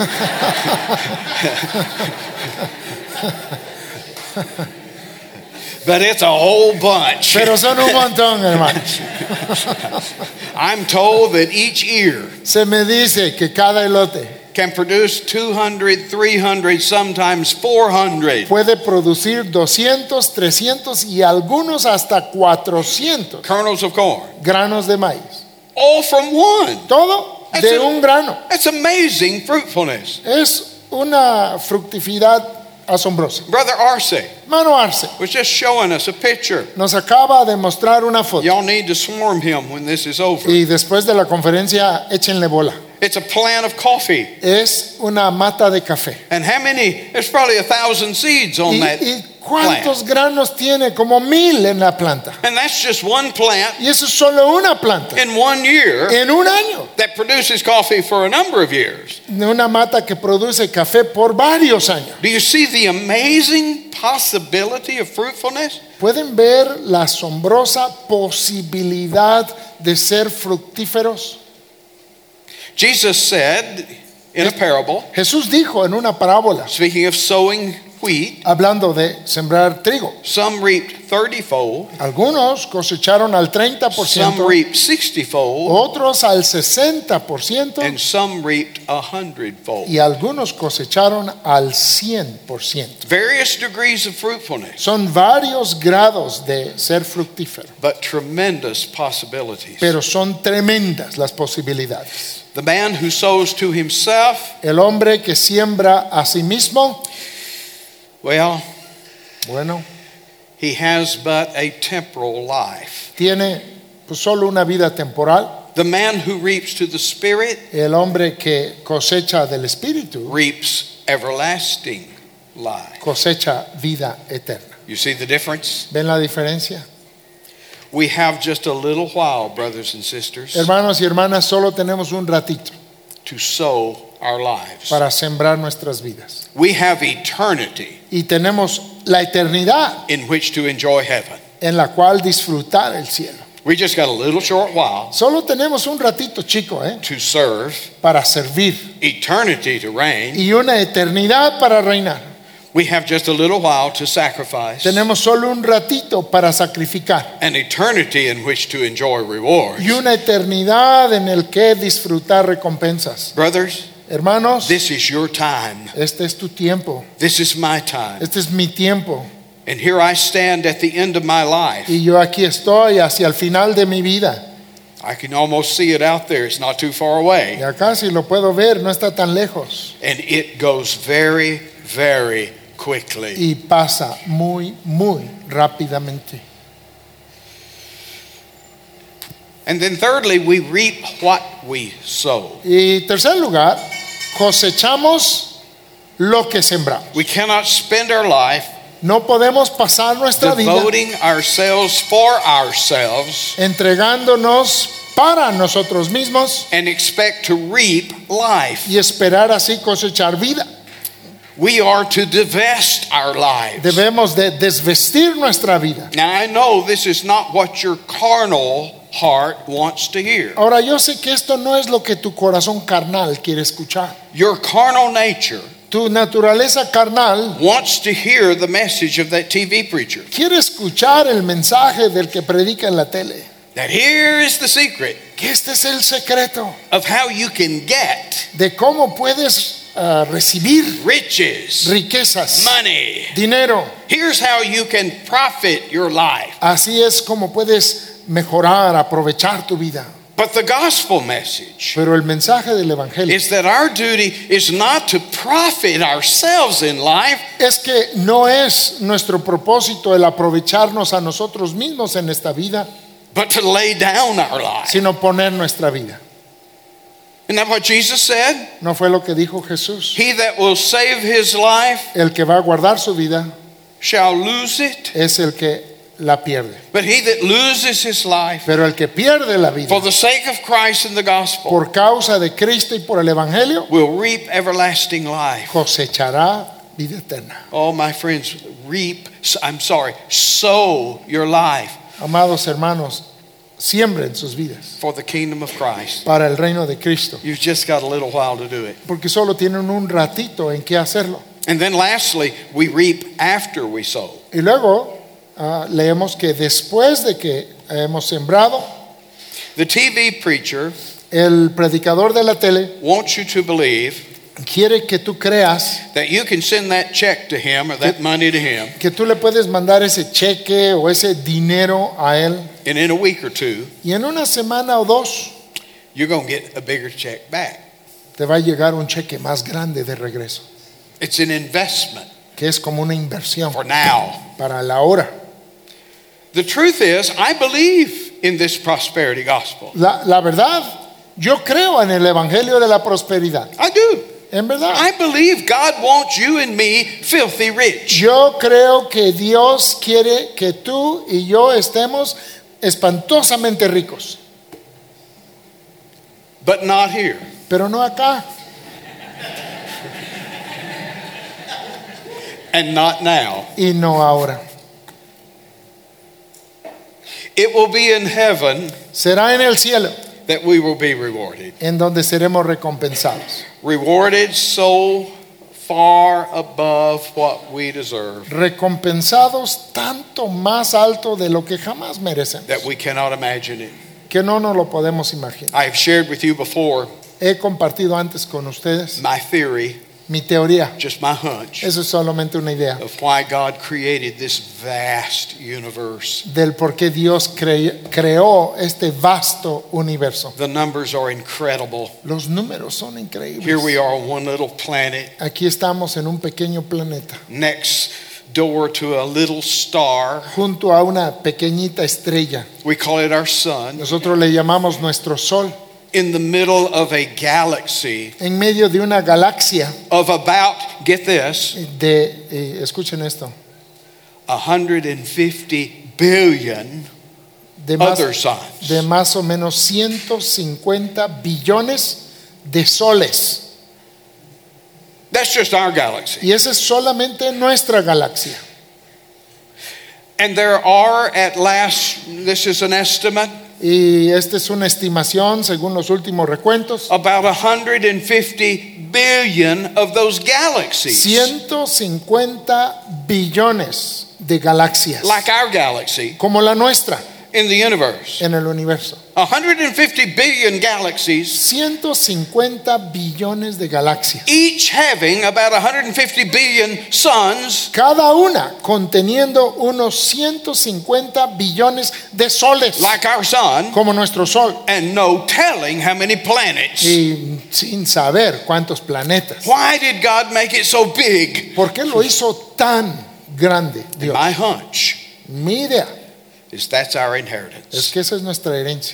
But it's a whole bunch. Pero son un montón, hermanos. I'm told that each ear Se me dice que cada elote can produce two hundred, three hundred, sometimes four hundred puede producir doscientos, trescientos y algunos hasta cuatrocientos kernels of corn, granos de maíz. all from one. Todo de un grano. That's amazing fruitfulness. Es una fructividad asombrosa. Brother Arce Hermano Arce was just showing us a picture. nos acaba de mostrar una foto Y'all need to swarm him when this is over. y después de la conferencia échenle bola. It's a plant of coffee. Es una mata de café. And how many? There's probably a thousand seeds on ¿Y, that y cuántos plant. granos tiene? Como mil en la planta. And that's just one plant Y eso es solo una planta. in one year En un año. that produces coffee for a number of years. Una mata que produce café por varios años. Do you see the amazing possibility of fruitfulness? ¿Pueden ver la asombrosa posibilidad de ser fructíferos? Jesus said in a parable, Jesús dijo en una parábola, speaking of sowing wheat, hablando de sembrar trigo. some reaped thirty-fold, Algunos cosecharon al treinta por some ciento, reaped sixty-fold, otros al sesenta por ciento and some reaped a hundredfold. y algunos cosecharon al cien por ciento. Various degrees of fruitfulness, Son varios grados de ser fructífero, but tremendous possibilities. pero son tremendas las posibilidades. The man who sows to himself, El hombre que siembra a sí mismo, well, bueno, he has but a temporal life. tiene pues solo una vida temporal. The man who reaps to the Spirit El hombre que cosecha del Espíritu reaps everlasting life. cosecha vida eterna. You see the difference? ¿Ven la diferencia? We have just a little while, brothers and sisters, Hermanos y hermanas, solo tenemos un ratito to sow our lives. para sembrar nuestras vidas. We have eternity Y tenemos la eternidad in which to enjoy heaven. en la cual disfrutar el cielo. We just got a little short while Solo tenemos un ratito, chico, ¿eh? to serve, para servir eternity to reign. y una eternidad para reinar. We have just a little while to sacrifice, Tenemos solo un ratito para sacrificar an eternity in which to enjoy rewards. y una eternidad en el que disfrutar recompensas. Brothers, Hermanos, this is your time. este es tu tiempo, This is my time. este es mi tiempo And here I stand at the end of my life. y yo aquí estoy hacia el final de mi vida. I can almost see it out there. It's not too far away. Y acá si lo puedo ver, no está tan lejos And it goes very, very quickly. y pasa muy, muy rápidamente. And then thirdly, we reap what we sow. Y tercer lugar, cosechamos lo que sembramos. We cannot spend our life No podemos pasar nuestra vida devoting ourselves for ourselves entregándonos para nosotros mismos and expect to reap life. y esperar así cosechar vida. We are to divest our lives. Debemos de desvestir nuestra vida. Now I know this is not what your carnal heart wants to hear. Ahora yo sé que esto no es lo que tu corazón carnal quiere escuchar. Your carnal nature Tu naturaleza carnal wants to hear the message of that T V preacher. quiere escuchar el mensaje del que predica en la tele. That here is the secret Que este es el secreto of how you can get de cómo puedes uh, recibir riches, riquezas, money. dinero. Here's how you can profit your life. Así es como puedes mejorar, aprovechar tu vida. But the gospel message Pero el mensaje del evangelio is that our duty is not to profit ourselves in life, es que no es nuestro propósito el aprovecharnos a nosotros mismos en esta vida, but to lay down our life. sino poner nuestra vida. Isn't that what Jesus said? ¿No fue lo que dijo Jesús? He that will save his life El que va a guardar su vida shall lose it, es el que la pierde. but he that loses his life Pero el que pierde la vida for the sake of Christ and the gospel por causa de Cristo y por el evangelio will reap everlasting life. cosechará vida eterna. Oh, my friends, reap, I'm sorry, sow your life Amados hermanos, siembren sus vidas for the kingdom of Christ. para el reino de Cristo, You've just got a little while to do it. porque solo tienen un ratito en que hacerlo. And then lastly, we reap after we sow. Y luego ah, leemos que después de que hemos sembrado, The T V preacher el predicador de la tele wants you to believe quiere que tú creas that you can send that check to him or that money to him, que tú le puedes mandar ese cheque o ese dinero a él and in a week or two, y en una semana o dos you're going to get a bigger check back. te va a llegar un cheque más grande de regreso, It's an investment que es como una inversión for now. para la hora. The truth is, I believe in this prosperity gospel. La, la verdad, yo creo en el evangelio de la prosperidad. I do. En verdad, I believe God wants you and me filthy rich. yo creo que Dios quiere que tú y yo estemos espantosamente ricos, But not here. pero no acá And not now. y no ahora. It will be in heaven Será en el cielo that we will be rewarded. en donde seremos recompensados. Rewarded so far above what we deserve, recompensados tanto más alto de lo que jamás merecemos, that we cannot imagine it. que no nos lo podemos imaginar. I have shared with you before He compartido antes con ustedes my theory, mi teoría. just my hunch, Eso es solamente una idea of why God created this vast universe. del por qué Dios cre- creó este vasto universo. The numbers are incredible. Los números son Here increíbles. we are on one little planet, Aquí estamos en un pequeño planeta, next door to a little star. junto a una pequeñita estrella. We call it our sun. Nosotros le llamamos nuestro sol, In the middle of a galaxy en medio de una galaxia of about, get this, de, eh, escuchen esto, one hundred fifty billion de más, other suns. de más o menos ciento cincuenta billones de soles. That's just our galaxy. Y esa es solamente nuestra galaxia. And there are at last, this is an estimate, Y esta es una estimación según los últimos recuentos. about one hundred fifty billion of those galaxies. ciento cincuenta billones de galaxias, Like our galaxy como la nuestra in the universe. en el universo. one hundred fifty billion galaxies, ciento cincuenta billones de galaxias, each having about one hundred fifty billion suns, cada una conteniendo unos ciento cincuenta billones de soles, like our sun, como nuestro sol, and no telling how many planets. y sin saber cuántos planetas. Why did God make it so big? ¿Por qué lo hizo tan grande Dios? My hunch Mi idea is that's our es inheritance. que esa es nuestra herencia.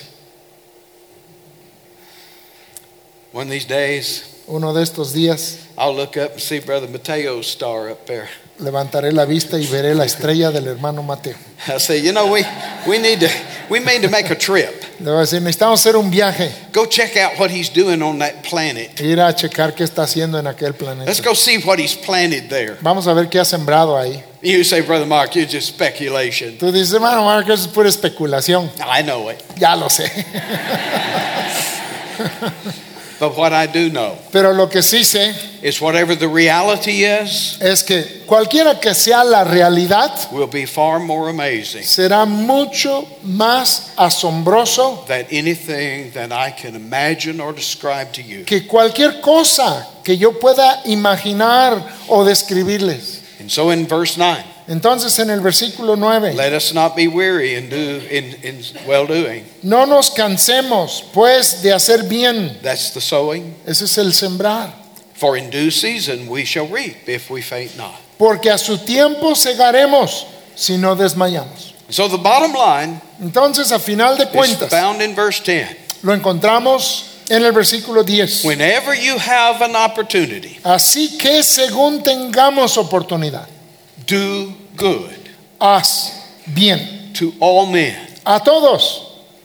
One of these days, Uno de estos días I'll look up and see Brother Mateo's star up there. levantaré la vista y veré la estrella del hermano Mateo. I say, you know, we, we need to, we need to make a trip. Le voy a decir, necesitamos hacer un viaje, Go check out what he's doing on that planet. ir a checar qué está haciendo en aquel Let's planeta. go see what he's planted there. Vamos a ver qué ha sembrado ahí. You say, Brother Mark, you're just speculation. Tú dices, hermano Mark, eso es pura especulación. I know it. Ya lo sé. But what I do know Pero lo que sí sé is whatever the reality is es que cualquiera que sea la realidad, will be far more amazing será mucho más asombroso than anything that I can imagine or describe to you. que cualquier cosa que yo pueda imaginar o describirles. And so in verse nine, Entonces en el versículo nueve, let us not be weary in, do, in, in well-doing. no nos cansemos pues de hacer bien. That's the sowing. Ese es el sembrar. For in due season we shall reap if we faint not. Porque a su tiempo segaremos si no desmayamos. So the bottom line Entonces a final de is cuentas found in verse ten. lo encontramos en el versículo diez. Whenever you have an opportunity, Así que según tengamos oportunidad, do good haz bien to all men. a todos.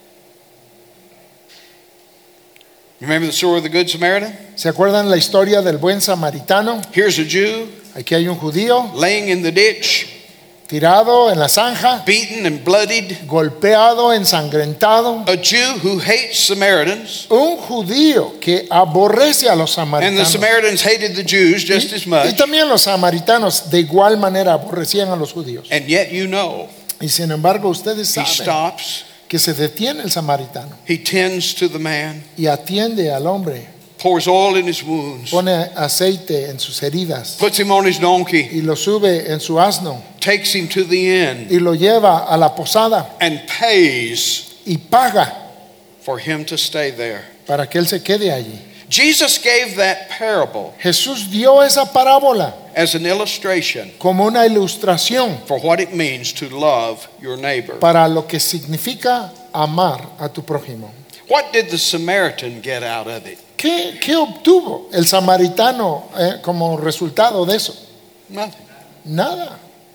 Remember the story of the Good Samaritan? ¿Se acuerdan la historia del buen samaritano? Here's a Jew Aquí hay un judío laying in the ditch, tirado en la zanja, beaten and bloodied. golpeado, ensangrentado. A Jew who hates Samaritans, Un judío que aborrece a los and the samaritanos. Samaritans hated the Jews just as Y much. también los samaritanos de igual manera aborrecían a los judíos. And yet you know, Y sin embargo ustedes he saben stops, que se detiene el samaritano he tends to the man, y atiende al hombre, pours oil in his wounds, pone aceite en sus heridas puts him on his donkey, y lo sube en su asno takes him to the inn, y lo lleva a la posada and pays y paga for him to stay there. para que él se quede allí. Jesus gave that parable Jesús dio esa parábola as an illustration como una ilustración for what it means to love your neighbor. para lo que significa amar a tu prójimo. What did the Samaritan get out of it? ¿Qué, qué obtuvo el samaritano eh, como resultado de eso? Nothing. Nada,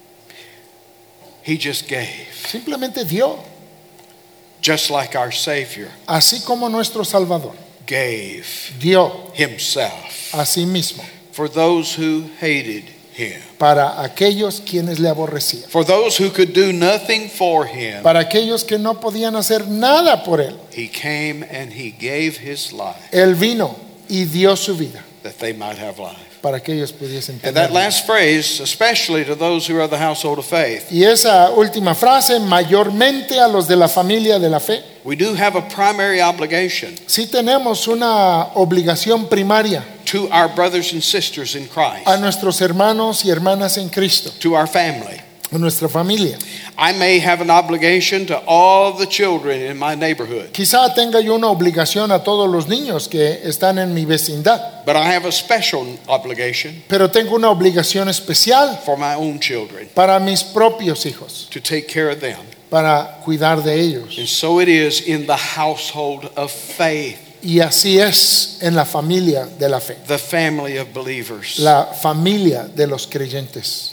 He just gave, simplemente dio, just like our Savior así como nuestro Salvador gave dio himself a sí mismo for those who hated him, para aquellos quienes le aborrecían, for those who could do nothing for him. para aquellos que no podían hacer nada por él. He came and he gave his life Él vino y dio su vida that they might have life. para que ellos pudiesen And that tener. last phrase, especially to those who are the household of faith, Y esa última frase, mayormente a los de la familia de la fe, we do have a primary obligation sí tenemos una obligación primaria to our brothers and sisters in Christ, a nuestros hermanos y hermanas en Cristo, to our family. a nuestra familia. I may have an obligation to all the children in my neighborhood, Quizá tenga yo una obligación a todos los niños que están en mi vecindad, but I have a special obligation pero tengo una obligación especial for my own children para mis propios hijos, to take care of them. para cuidar de ellos. And so it is in the household of faith, Y así es en la familia de la fe, the family of believers. la familia de los creyentes.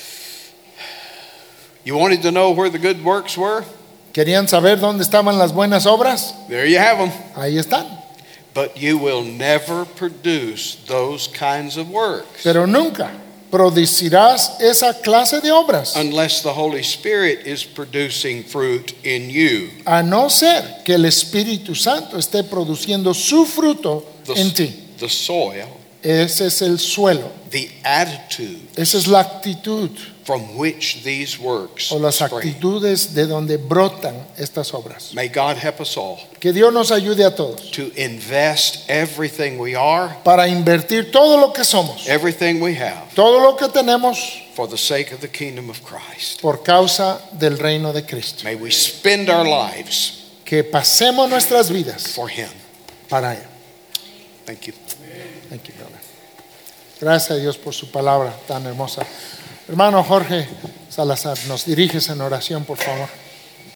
You wanted to know where the good works were? ¿Querían saber dónde estaban las buenas obras? There you have them. Ahí están. But you will never produce those kinds of works Pero nunca producirás esa clase de obras unless the Holy Spirit is producing fruit in you. a no ser que el Espíritu Santo esté produciendo su fruto en ti. The, the soil, Ese es el suelo, the attitude esa es la actitud from which these works o las spring. actitudes de donde brotan estas obras. May God help us all Que Dios nos ayude a todos to invest everything we are, para invertir todo lo que somos, everything we have, todo lo que tenemos for the sake of the kingdom of Christ. por causa del reino de Cristo. May we spend our lives Que pasemos nuestras vidas for Him. para Él. Thank you. Thank you, brother. Gracias a Dios por su palabra tan hermosa. Hermano Jorge Salazar, nos diriges en oración, por favor.